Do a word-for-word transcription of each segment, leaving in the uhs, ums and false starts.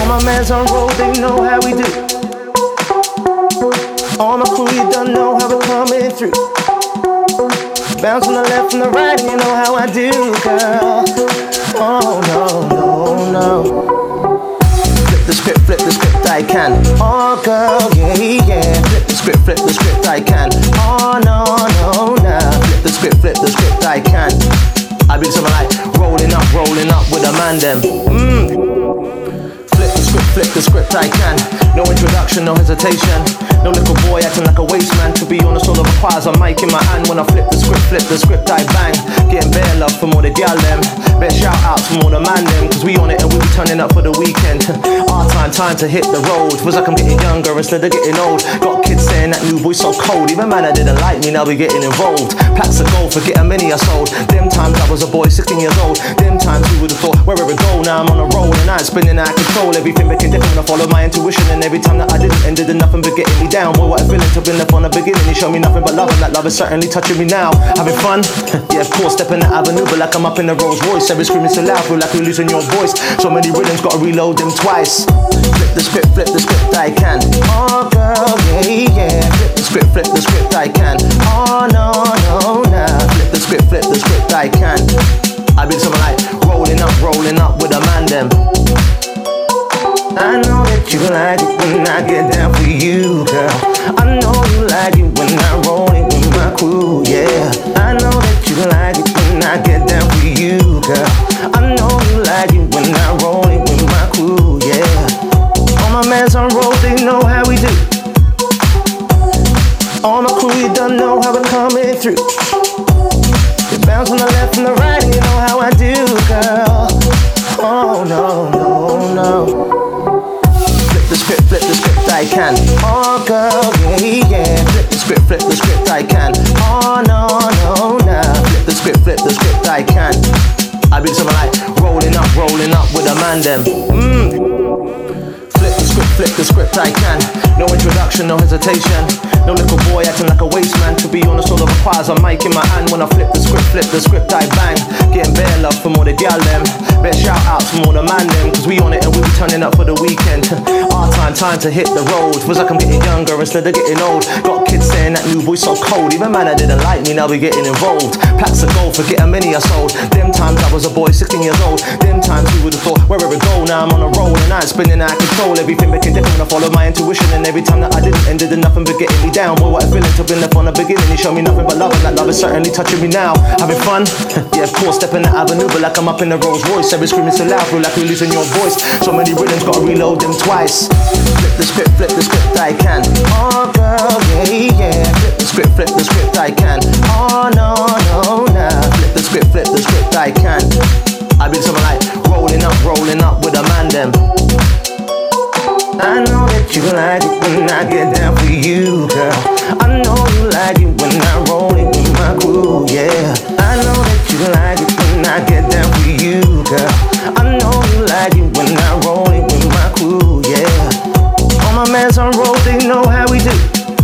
my mans on road, they know how we do. All my crew, you don't know how we're coming through. Bounce from the left and the right, and you know how I do, girl. Oh no, no, no. Flip the script, flip the script, I can. Oh girl, yeah, yeah. Flip the script, flip the script, I can. Oh no, no, no. Flip the script, flip the script, I can. I be something like rolling up, rolling up with a man them. Mmm. Flip the script, flip the script, I can. No introduction, no hesitation. No little boy acting like a waste man. To be honest, all it requires a mic in my hand. When I flip the script, flip the script, I bang. Getting bare love from all the gal them. Bare shout outs from all the man them. Cause we on it and we be turning up for the weekend. Our time, time to hit the road. Feels like I'm getting younger instead of getting old. Got kids saying that new boy's so cold. Even man that didn't like me, now we getting involved. Packs of gold, forget how many I sold. Them times I was a boy, sixteen years old. Them times we would've thought, where it go? Now I'm on a roll and I'm spinning out of control. Everything became different when I follow my intuition. And every time that I didn't, ended in nothing but getting me down. Boy, what a feeling to been left from the beginning. You show me nothing but love, and that love is certainly touching me now. Having fun? Yeah, of course, stepping the avenue, but like I'm up in the Rolls Royce. Every screaming so loud, feel like you're losing your voice. So many rhythms, gotta reload them twice. Flip the script, flip the script, I can. Oh girl, yeah, yeah. Flip the script, flip the script, I can. Oh no, no, no. Flip the script, flip the script, I can. I be something like rolling up, rolling up with a man them. I know that you like it when I get down for you, girl. I know you like it when I roll it with my crew, yeah. I know that you like it when I get down for you, girl. I know you like it when I roll it with my crew, yeah. All my mans on road, they know how we do. All my crew, you don't know how we're coming through. You bounce on the left and the right, and you know how I do, girl. Oh no, no, no. Flip the script, flip the script, I can. Oh girl, yeah, yeah. Flip the script, flip the script, I can. Oh no, no, no. Flip the script, flip the script, I can. I be something like rolling up, rolling up with a man them. Mmm. Flip the script, flip the script, I can. No introduction, no hesitation. No little boy acting like a waste man. To be honest, all it requires a mic in my hand. When I flip the script, flip the script, I bang. Getting bare love from all the gal them. Bare shout outs from all the man them. Cause we on it and we be turning up for the weekend. Our time, time to hit the road. Feels like I'm getting younger instead of getting old. Got kids saying that new boy's so cold. Even man that didn't like me, now we getting involved. Packs of gold, forget how many I sold. Them times I was a boy, sixteen years old. Them times we would've thought, where it go? Now I'm on a roll and I'm spinning out of control. Everything became different when I follow my intuition. And every time that I didn't, ended in nothing but getting me down. Boy, what a feeling to been left from the beginning. You show me nothing but love, and that love is certainly touching me now. Having fun? Yeah, of course, stepping the avenue, but like I'm up in the Rolls Royce. Every screaming so loud, feel like you're losing your voice. So many rhythms, gotta reload them twice. Flip the script, flip the script, I can. Oh girl, yeah, yeah. Flip the script, flip the script, I can. Oh no, no, no. Flip the script, flip the script, I can. I be something like rolling up, rolling up with a man them. I know that you like it when I get down for you, girl. I know you like it when I roll it with my crew, yeah. I know that you like it when I get down for you, girl. I know you like it when I roll it with my crew, yeah. All my mans on road, they know how we do.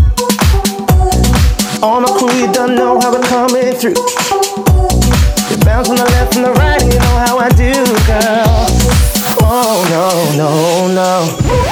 All my crew, you don't know how we're coming through. You bounce on the left and the right, and you know how I do, girl. Oh no, no, no.